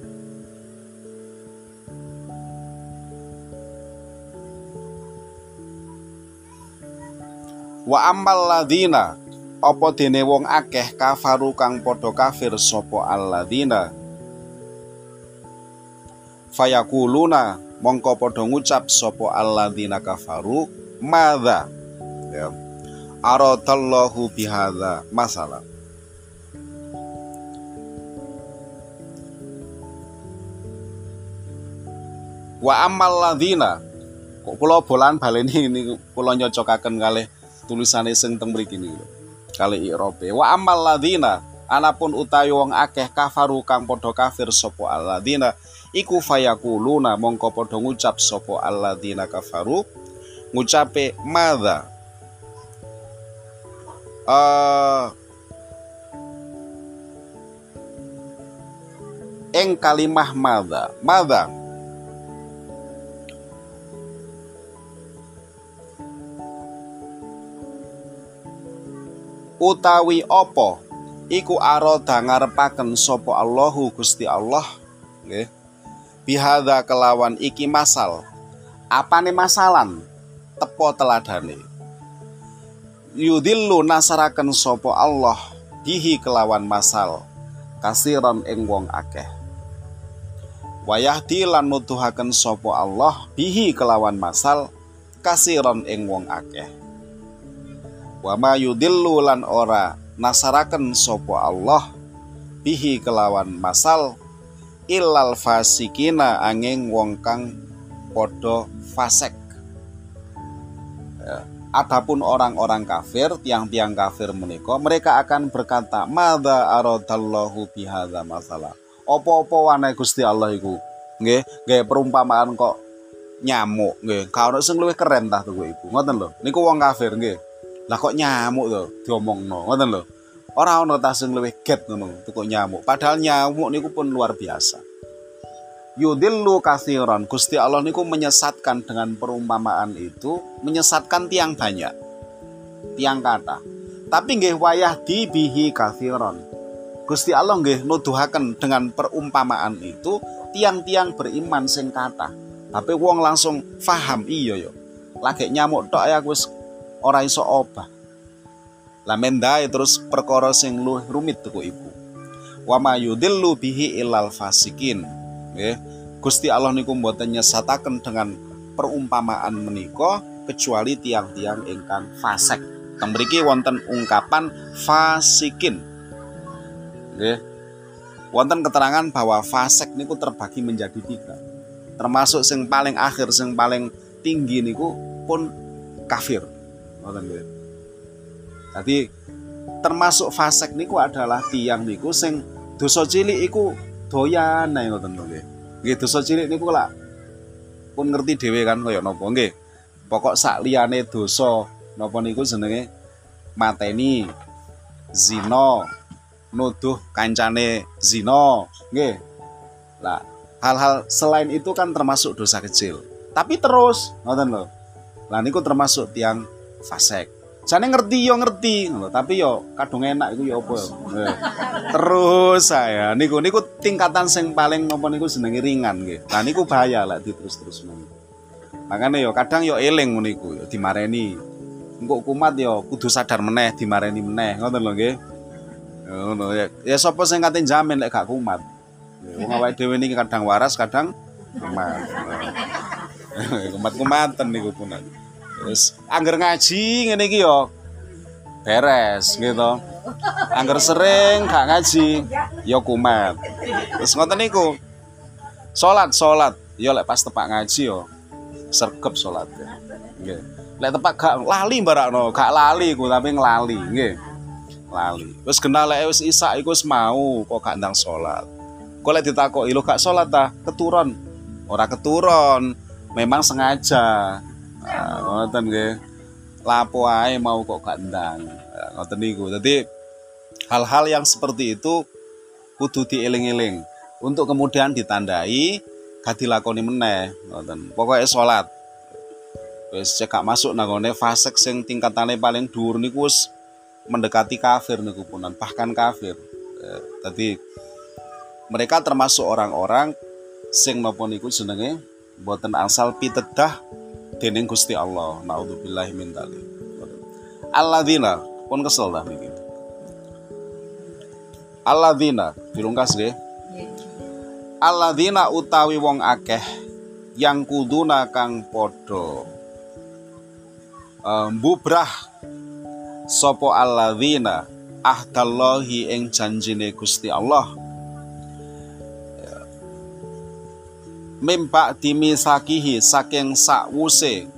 Wa ammal ladzina apa dene wong akeh kafaru kang padha kafir sapa alladzina fayakuluna mongko padha ngucap sapa alladzina kafaru madza ya aradallahu bihadza masalah. Wa ammal ladzina kok kula bolan baleni niku kula nyocokaken kalih tulisane sing teng mriki niku kalih i'rabe. Wa ammal ladzina anapun utawi wong akeh kafaru kang padha kafir sapa alladzina iku fayakuluna mongko padha ngucap sapa alladzina kafaru ngucape madza ing kalimah madza utawi apa iku arada ngarepaken sapa Allahu Gusti Allah nggih bihadza kelawan iki masal apane masalan tepo teladane yudillu nasaraken sapa Allah bihi kelawan masal kasiron ing wong akeh wayahdi lan nuduhaken sapa Allah bihi kelawan masal kasiron ing wong akeh. Wa ma yudillu lan ora nasaraken sapa Allah bihi kelawan masal illal fasikina angin wong kang padha fasik. Adapun orang-orang kafir, tiang-tiang kafir menika mereka akan berkata madza aradallahu bihadza masalah. Apa-apa wane Gusti Allah iku nggih nggih perumpamaan kok nyamuk nggih ka ono sing luwih keren tah tuku iku ngoten lho niku wong kafir nggih. Lah kok nyamuk to diomongno ngoten lho. Ora ana ta sing luwih get ngono kok nyamuk. Padahal nyamuk niku pun luar biasa. Yudillu katsiran. Gusti Allah niku menyesatkan dengan perumpamaan itu, menyesatkan tiang banyak. Tiang kata. Tapi nggih wayah dibihi katsiran. Gusti Allah nggih nuduhaken dengan perumpamaan itu tiang-tiang beriman sing kata. Tapi wong langsung faham iya yo. Lagi nyamuk tok ya wis ora iso obah. Lah mendae terus perkara sing luwih rumit tuku iku. Wa ma yudillu bihi illal fasikin. Nggih. Gusti Allah niku mboten nyesataken dengan perumpamaan menika kecuali tiang-tiang ingkang fasik. Teng mriki wonten ungkapan fasikin. Nggih. Wonten keterangan bahwa fasik niku terbagi menjadi 3. Termasuk sing paling akhir, sing paling tinggi niku pun kafir. Jadi termasuk fasik niku adalah tiang niku sing dosa cilik iku doyan ae ngoten lho nggih. Nggih dosa cilik niku lak pun ngerti dhewe kan kaya napa nggih. Pokok sak liyane dosa napa niku jenenge mateni, zina, nuduh kancane zina, nggih. Lah hal-hal selain itu kan termasuk dosa kecil. Tapi terus ngoten lho. Lah niku termasuk tiang fasik. Jane ngerti yo ngerti, tapi yo kadung enak iku yo apa yo. Terus saya niku tingkatan sing paling napa niku jenenge ringan nggih. Lah niku bahaya lek diterus-terus men. Makane yo kadang yo eling niku yo dimareni. Engko kumat yo kudu sadar meneh dimareni meneh, ngoten lho nggih. Ngono ya. Ya sapa sing kate jamin lek gak kumat. Wong awake dhewe niki kadang waras, kadang kumat. Kumat-kumatan niku pun. Wis angger ngaji ngene iki yo beres gitu. Angger sering gak ngaji yo kumat. Terus ngoten niku. Salat yo lek pas tepak ngaji yo sergep salat. Nggih. Lek tepak gak lali mbarakno, gak lali ku tapi nglali, nggih. Lali. Wis genah lek wis isak iku wis mau kok gak ndang salat. Kok lek ditakoki lho gak salat ta? Keturun. Ora keturun, memang sengaja. Ngoten nggih. Lapo ae mau kok gak ndang. Ngoten niku. Dadi hal-hal yang seperti itu kudu dieling-eling untuk kemudian ditandai gak dilakoni meneh. Ngoten. Pokoke salat. Wis cekak masuk nang ngene fasik sing tingkatane paling dhuwur niku wis mendekati kafir niku punan, bahkan kafir. Dadi mereka termasuk orang-orang sing napa niku jenenge boten asal pitedah dening Gusti Allah. Naudzubillahi min dzalik. Alladzina pun kesel dah niki. Alladzina dirungkas nggih. Alladzina utawi wong akeh yang kuduna kang padha mbubrah sapa alladzina ahdallahi ing janjine Gusti Allah mimpa dimisakihi saking sakwuse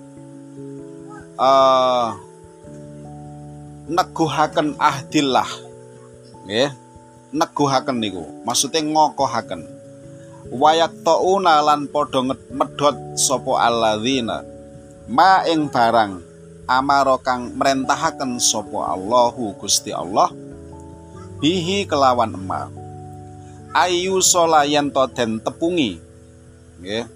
neguhaken ahdillah nggih neguhaken niku maksude ngokohaken wayak tauna lan padha medhot sapa alladzina ma ing barang amaro kang merentahaken sapa Allahu Gusti Allah bihi kelawan ema ayu solayan to den tepungi nggih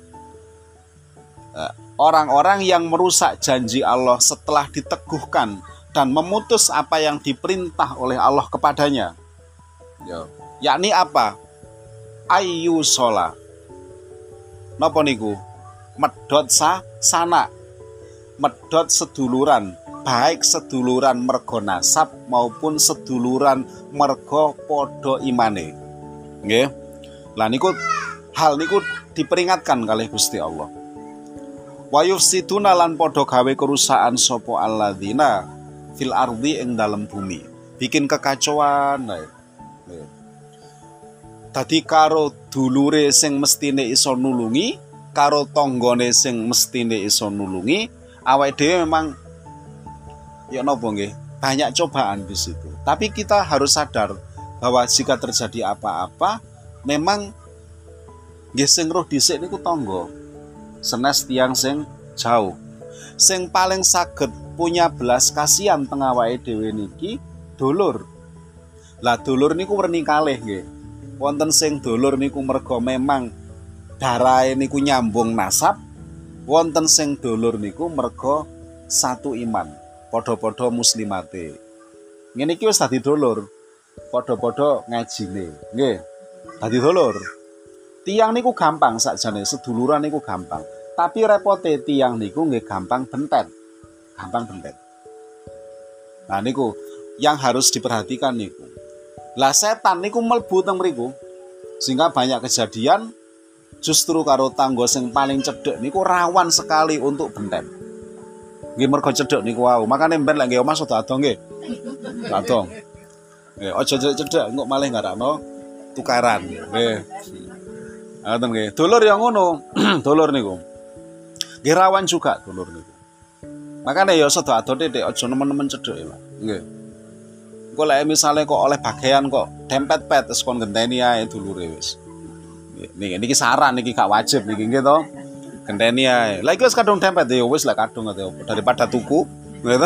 orang-orang yang merusak janji Allah setelah diteguhkan dan memutus apa yang diperintah oleh Allah kepadanya yakni apa ayu sola napa niku medhot sana medhot seduluran baik seduluran mergo nasab maupun seduluran mergo padha imane nggih lah niku hal niku diperingatkan kalih Gusti Allah wa yufsiduna lan padha gawe kerusakan sapa alladzina fil ardi ing dalem bumi bikin kekacauan dadi karo dulure sing mestine iso nulungi karo tanggane sing mestine iso nulungi awake dhewe memang ya napa nggih banyak cobaan di situ. Tapi kita harus sadar bahwa jika terjadi apa-apa memang nggih sing roh dhisik niku tangga. Senes tiyang sing jauh. Sing paling saged punya belas kasihan teng awake dhewe niki dulur. Lah dulur niku werni kalih nggih. Wonten sing dulur niku merga memang darahe niku nyambung nasab. Wonten sing dulur niku merga satu iman, padha-padha muslimate. Ngene iki wis dadi dulur, padha-padha ngajine, nggih. Dadi dulur. Tiyang niku gampang sakjane, seduluran niku gampang. Tapi repote tiyang niku nggih gampang bentet. Gampang bentet. Nah niku yang harus diperhatikan niku. Lah setan niku mlebu teng mriku. Sehingga banyak kejadian justru karo tangga sing paling cedhek niku rawan sekali untuk bentet. Nggih mergo cedhek niku wau. Makane mben lek nggih omah sedo adong nggih. Adong. Nggih aja cedhek engko malih ngarakno tukaran. Nggih. Ngoten nggih. Dulur ya ngono. Dulur niku. Nggih rawan juga dulur niku. Makane ya sedo adon titik aja nemen-nemen cedhek ya. Nggih. Engko lek misale kok oleh bagian kok dempet-pet wis kon genteni ae dulure wis. Niki saran niki gak wajib niki nggih to. Genteni ae. Lah iki wis kadung dempet ya wis lah kadung daripada tuku gitu.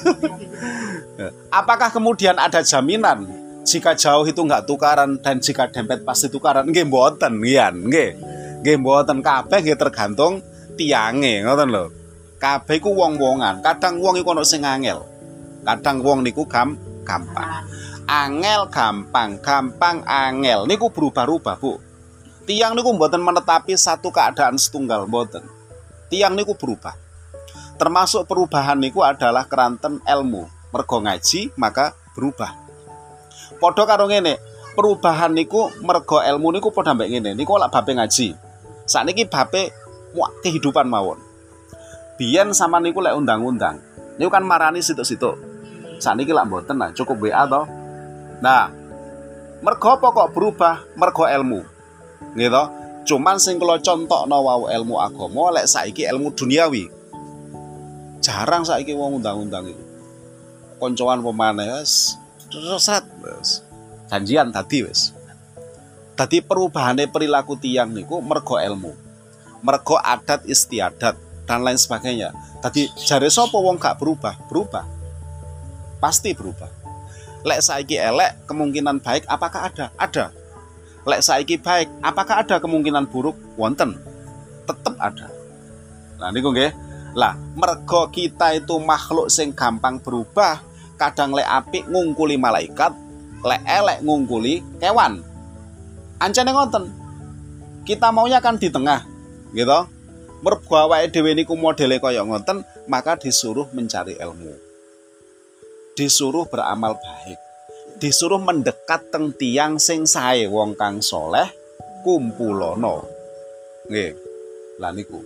Apakah kemudian ada jaminan jika jauh itu enggak tukaran dan jika dempet pasti tukaran? Nggih mboten ngian, nggih. Nggih mboten kabeh nggih tergantung tiange, ngoten lho. Kabeh iku wong-wongan. Kadang wong iku ono sing angel. Kadang wong niku gampang. Angel gampang, gampang angel. Niku berubah-ubah, Bu. Tiang niku mboten menetapi satu keadaan setunggal, mboten. Tiang niku berubah. Termasuk perubahan niku adalah keranten ilmu. Mergo ngaji maka berubah. Padha karo ngene, perubahan niku mergo ilmu niku padha mbek ngene. Niku lak babe ngaji. Sakniki babe kehidupan mawon. Biyen sama niku lek undang-undang. Niku kan marani situk-situk. Saniki lak mboten lah, cukup WA to. Nah, mergo apa kok berubah? Mergo ilmu. Nggih to? Cuman sing kula contokno wau ilmu agama, lek saiki ilmu duniawi. Jarang saiki wong undang-undang iku. Koncoan pemane wis wis. Janjian tadi wis. Dadi perubahane perilaku tiyang niku mergo ilmu. Mergo adat istiadat dan lain sebagainya. Tadi jare sapa wong gak berubah? Berubah. Pasti berubah. Lek saiki elek, kemungkinan baik apakah ada? Ada. Lek saiki baik, apakah ada kemungkinan buruk? Wonten. Tetep ada. Lah niku nggih. Lah, mergo kita itu makhluk sing gampang berubah, kadang lek apik ngungkuli malaikat, lek elek ngungkuli kewan. Ancene ngoten. Kita maunya kan di tengah, gitu. Mergo awake dhewe niku modele kaya ngoten, maka disuruh mencari ilmu. Disuruh beramal baik. Disuruh mendekat teng tiyang sing sae, wong kang soleh kumpulono. Nggih. Lah niku.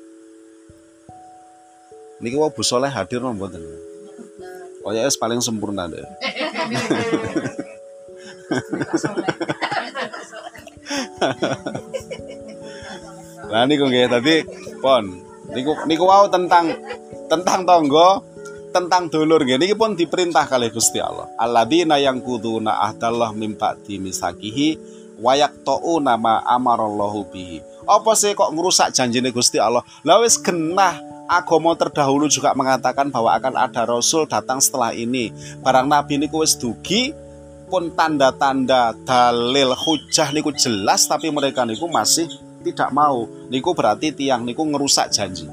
Niki wae Bu Soleh hadir napa mboten? Oh ya paling sempurna deh. Lah niku nggih tadi pon. Niku wau tentang tangga, tentang dulur nggih. Niki pun diperintah kalih Gusti Allah. Alladzina yanquduna ahdallah mim ba'di misakihi wa yaqta'una ma amarallahu bihi. Apa sih kok ngerusak janjine Gusti Allah? Lah wis genah. Agama terdahulu juga mengatakan bahwa akan ada rasul datang setelah ini. Barang nabi niku wis dugi pun tanda-tanda dalil hujah niku jelas tapi mereka niku masih tidak mau. Niku berarti tiang niku ngerusak janji.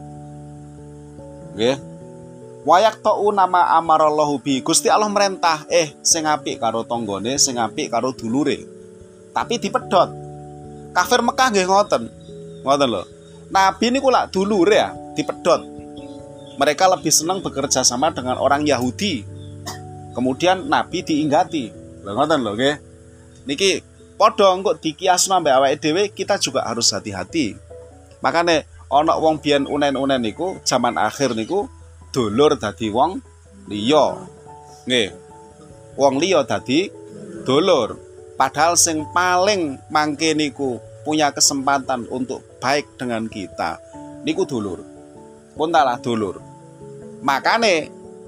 Nggih. Wayak ta'u nama amarallahu bi. Gusti Allah merentah, sing apik karo tanggane, sing apik karo dulure. Tapi dipedhot. Kafir Mekah nggih ngoten. Ngoten lho. Nabi niku lak dulure ya, dipedhot. Mereka lebih senang bekerja sama dengan orang Yahudi. Kemudian Nabi diinggati. Lho ngoten lho nggih. Niki padha engko dikiasno mbek awake dhewe, kita juga harus hati-hati. Makane ana wong biyen unen-unen niku zaman akhir niku dulur dadi wong liya. Nggih. Wong liya dadi dulur. Padahal sing paling mangke niku punya kesempatan untuk baik dengan kita niku dulur. Pun talah dulur. Makane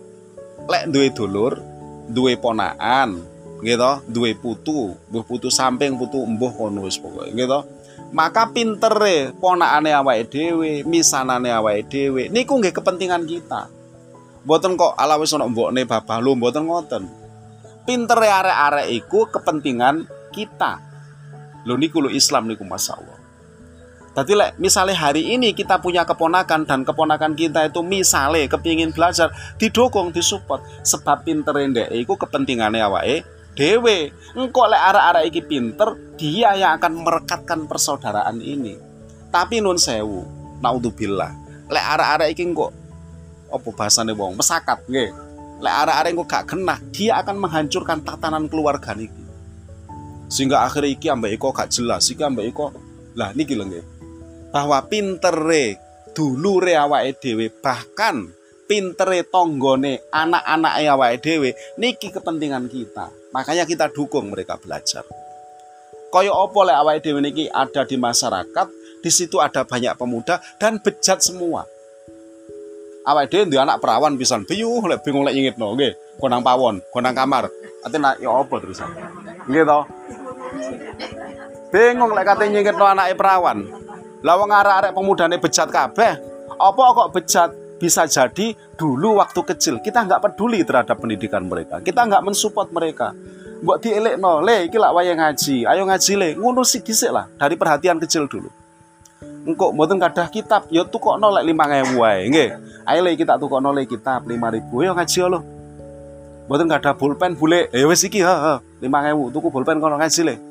lek duwe dulur, duwe ponakan, nggih to, duwe putu, mbuh putu samping, putu embuh kono wis pokoke, nggih to. Maka pintere ponakane awake dhewe, misanane awake dhewe niku nggih kepentingan kita. Mboten kok ala wis ana mbokne babah lho, mboten ngoten. Pintere arek-arek iku kepentingan kita. Lho niku lho Islam niku masyaallah. Tadi lek misalnya hari ini kita punya keponakan dan keponakan kita itu misalnya kepingin belajar, didukung, disupport sebab pinter ndek iku kepentingannya awake dhewe. Engko lek arek-arek iki pinter, dia yang akan merekatkan persaudaraan ini. Tapi nun sewu, naudzubillah. Lek arek-arek iki engko apa bahasane wong mesakat nggih. Lek arek-arek engko gak genah, dia akan menghancurkan tatanan keluarga niki. Sehingga akhirnya iki ambek iko gak jelas, iki ambek iko. Lah niki lho nggih. Bahwa pintere dulure awake dhewe, bahkan pintere tanggane anak-anake awake dhewe niki kepentingan kita. Makanya kita dukung mereka belajar. Kaya apa lek awake dhewe niki ada di masyarakat, di situ ada banyak pemuda dan bejat semua. Awake dhewe duwe anak perawan pisan, biyuh lek bingung lek nyingitno nggih, konang pawon, konang kamar. Atene ya apa terusan. Nggih to? Bingung lek kate nyingitno anake perawan. Lah wong arek-arek pemudane bejat kabeh. Apa kok bejat? Bisa jadi dulu waktu kecil kita nggak peduli terhadap pendidikan mereka. Kita nggak mensupport mereka. Mbok dielekno, le iki lak wayah ngaji. Ayo ngaji le, ngono sik dhisik lah dari perhatian kecil dulu. Engko mboten kadah kitab, ya tukokno lek 5.000 wae, nggih. Ayo le kita tukokno le kitab 5.000. Yo ngaji lho. Mboten kadah pulpen bule. Ya wis iki, 5.000 tuku pulpen kono ngaji le.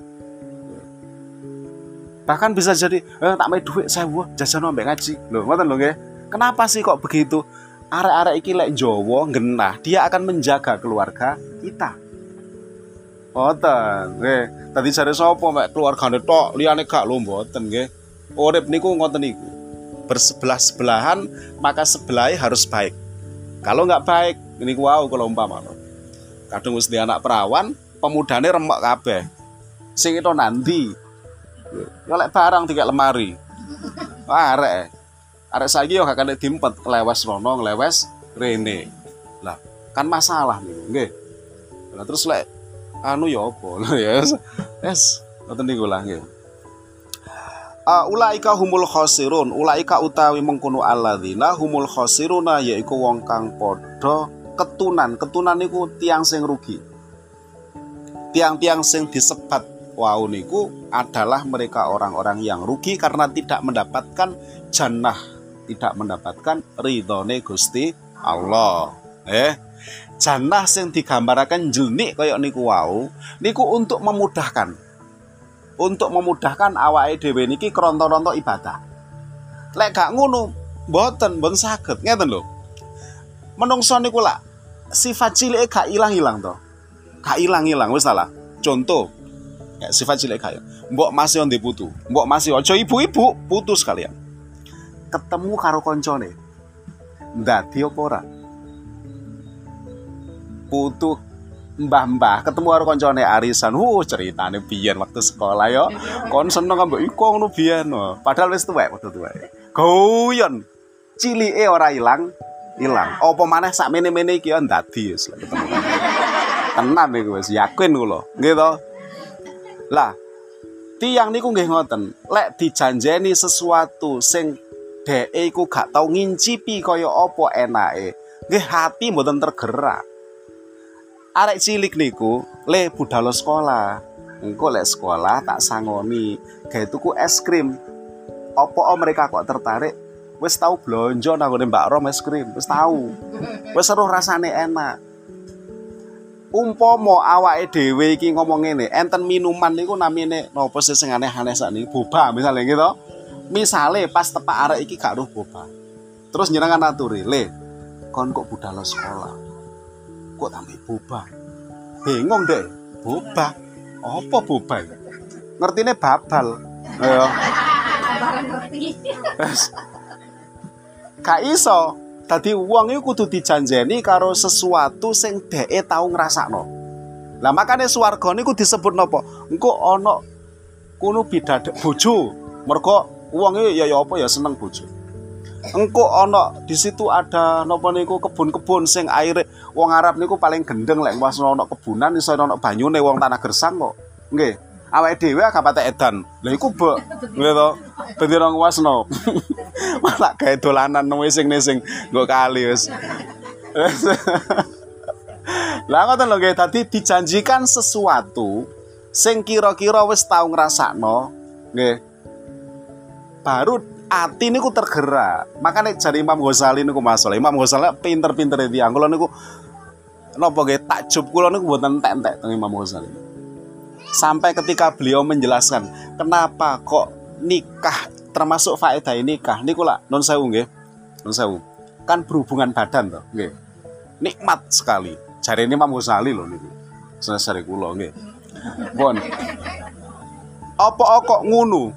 Bahkan bisa jadi tak mai dhuwit 1.000 jajan ambek ngaji. Lho, ngoten lho nggih. Kenapa sih kok begitu? Arek-arek iki lek Jawa genah, dia akan menjaga keluarga kita. Ngoten, nggih. Tadi jare sapa mek keluargane tok, liyane gak lho mboten nggih. Urip niku ngoten niku. bersebelah-sebelahan, maka sebelahnya harus baik. Kalau nggak baik, ini wow kalau umpama. Kadang wis anak perawan, pemudane remek kabeh. Sing itu nanti. Ya lek barang tiga lemari. Arek saiki yo gak kena dimpet, lewes rono, lewes rene. Lah, kan masalah niku, nggih. Lah terus lek anu ya apa? Ya yes, ngoten niku lah nggih. Ulaika humul khosirun, ulaika utawi mengkono alladzina humul khosiruna, yaiku wong kang padha ketunan. Ketunan niku tiang sing rugi. Tiang-tiang sing disebat wau niku adalah mereka orang-orang yang rugi karena tidak mendapatkan jannah, tidak mendapatkan ridhone Gusti Allah. Jannah sing digambaraken jilnik kaya niku wau niku untuk memudahkan awake dhewe niki kronto-ronto ibadah. Lek gak ngono mboten saged, ngeten lho. Menungso niku lak sifat cilike gak ilang-ilang to. Gak ilang-ilang wis salah. Contoh kayak sifat cilik kaya mbok masih ndek putu, mbok masih aja ibu-ibu putus kalian. Ketemu karo koncone ndadi apa ora? Putu mbah-mbah ketemu karo koncone arisan. Ceritane biyen waktu sekolah yo. Kon seneng ambek iko ngono biyen. Padahal wis tuwek, padha tuwek. Guyon. Cilike ora ilang. Apa maneh sak mene-mene iki yo ndadi wis ketemu. Tenan niku wis yakin kula. Nggih to? Lah, tiyang niku nggih ngoten. Lek dijanjeni sesuatu sing dheke iku gak tau ngincipi kaya apa enake, nggih hati mboten tergerak. Arek cilik niku le budal sekolah. Engko lek sekolah tak sangoni gawe tuku es krim. Apa mereka kok tertarik? Wis tau blonjo nang ngene Mbak Rom es krim, wis tau. Wis seru rasane enak. Umpama awake dhewe iki ngomong ngene, enten minuman niku namine napa sing aneh-aneh sakniki, boba misale gitu. Misale pas tepak arek iki gak ruh boba. Terus njenengan aturi, "Le, kon kok budal sekolah. Kok tambah boba?" Bingung deh, boba. Apa boba iki? Ngertine babal. Ayo. Barang ngerti. Gak iso. Dadi wong iku kudu dijanjeni karo sesuatu sing dheke tau ngrasakno. Lah makane swarga niku disebut napa? Engko ana kuno bidadari bojo. Mergo wong iki ya apa ya seneng bojo. Engko ana di situ ada napa niku kebun-kebun sing aire wong Arab niku paling gendeng lek pas ana kebunan iso ana banyune wong tanah gersang kok. Nggih. Awake dhewe gak patek edan. Lah iku bek. Nggih to. Ben ora nguasno. Malah gawe dolanan nesing-nesing nggo kali wis. Lah ngoten lho nggih, dadi dijanjikan sesuatu sing kira-kira wis tau ngrasakno, nggih. Baru ati niku tergerak. Makane jare Imam Ghazali niku masalah. Imam Ghazali pinter-pintere tiyang. Kula niku napa nggih takjub kula niku mboten entek-entek teng Imam Ghazali. Sampai ketika beliau menjelaskan kenapa kok nikah termasuk faedah nikah niku lak nun sewu nggih. Nun sewu. Kan berhubungan badan to, nggih. Nikmat sekali. Jare Imam Ghazali lho niku. Sesare kula nggih. Pun. Apa kok ngono?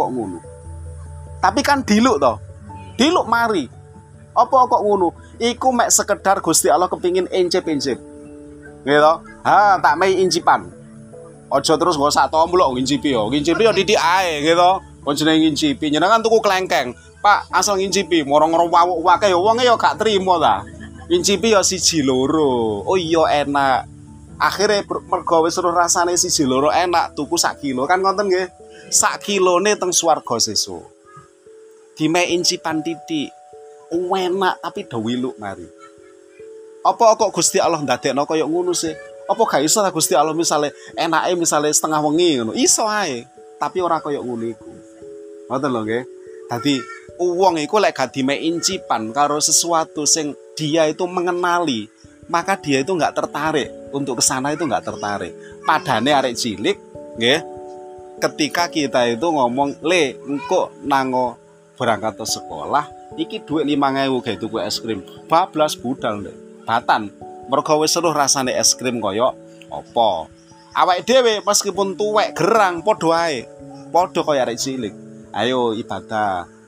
Tapi kan diluk to. Diluk mari. Apa kok ngono? Iku mek sekedar Gusti Allah kepingin incip-incip. Nggih to? Tak mei incipan. Aja terus nggo sak tomblok ngincipi yo. Ngincipi yo titik ae gitu. Kon jenenge ngincipi. Njenengan tuku klengkeng. Pak, asal ngincipi, moro-moro wawuk wae yo wonge yo gak trimo ta. Ngincipi yo siji loro. Oh iya enak. Akhire mergo wis weruh rasane siji loro enak, tuku sak kilo kan ngoten nggih. Sak kilone teng swarga sesuk. Dime incipan titik. Enak tapi dawiluk mari. Apa kok Gusti Allah ndadekno kaya ngono sih? Apa gak iso ta Gusti Allah misale enake misale setengah wengi ngono. Iso ae, tapi ora kaya ngono iku. Ngoten lho nggih. Dadi wong iku lek gak dime incipan karo sesuatu sing dia itu mengenali, maka dia itu enggak tertarik untuk ke sana, itu enggak tertarik. Padane arek cilik nggih. Ketika kita itu ngomong, "Le, engko nango berangkat ke sekolah, iki duit 5.000 gawe tuku es krim." Bablas budal ndek. Batan. Mergo wis seruh rasane es krim kaya apa. Awake dhewe meskipun tuwek gerang padha ae. Padha kaya arek cilik. Ayo ibadah.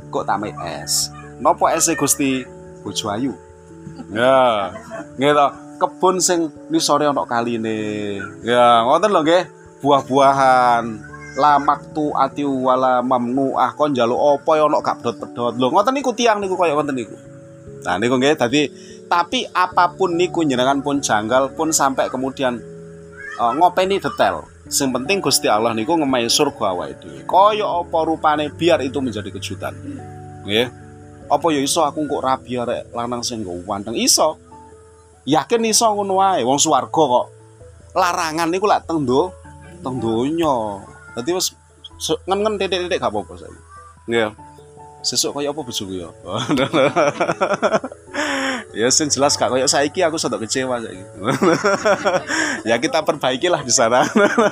kok tamai es. Nopo ese Gusti? Bojo ayu. Ya, gitu. Kebun sing nisore ana kaline. Ya, ngoten lho nggih. Buah-buahan. Lamak tu ati wala mamnuah kon njaluk apa ya ana gak pedhot-pedhot. Lho, ngoten niku tiyang niku kaya ngoten niku. Nah, niku nggih dadi tapi apapun niku jenengan pun janggal pun sampai kemudian ngopeni detail. Sing penting Gusti Allah niku ngemahi surga awake dhewe. Kaya apa rupane biar itu menjadi kejutan. Nggih. Apa ya iso aku kok rabi arek lanang sing nggo wanteng iso. Yakin iso ngono wae wong swarga kok. Larangan niku lak teng donya. Dadi wis ngen-ngen titik-titik gak apa-apa saiki. Nggih. Sesuk kaya apa bojoku ya. Ya sing jelas gak kaya saiki aku sedok kecewa saiki. Ya kita perbaikilah di sana.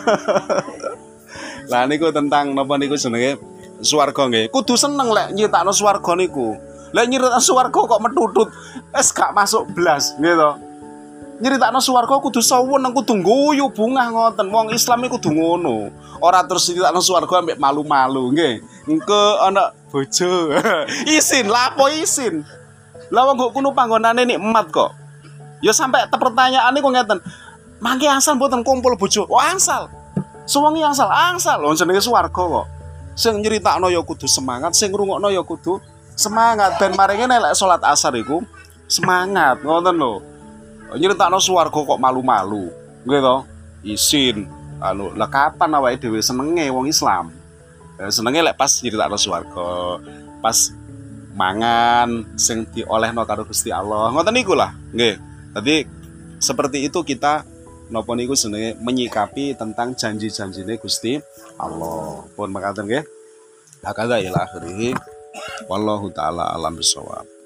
Lah niku tentang napa niku jenenge swarga nggih. Kudu seneng lek nyritakno swarga niku. Lek nyritakno swarga kok metutut wis gak masuk blas nggih to. Nyritakno swarga kudu saweneng kudu ngguyu bungah ngoten. Wong Islam iku kudu ngono. Ora terus nyritakno swarga ambek malu-malu nggih. Engko ana bojo. Isin, lapo isin. Lah wong kok kuno panggonane nikmat kok. Ya sampai pertanyaan niku ngeten. Mangke asal mboten kumpul bojo. Oh angsal. Suwengi angsal. Wong jenenge swarga kok. Sing nyritakno ya kudu semangat, sing ngrungokno ya kudu semangat. Ben maringe nek salat asar iku semangat, ngoten lho. Nyritakno swarga kok malu-malu. Nggih to? Isin. Lah kapan awake dhewe senenge wong Islam? Senenge lek pas nyritakno swarga, pas mangan sing diolehno karo Gusti Allah. Ngoten niku lah. Nggih. Dadi seperti itu kita napa niku jenenge menyikapi tentang janji-janjine Gusti Allah. Pun makaten nggih. Hakadha ila akhirih. Wallahu taala alam bisawab.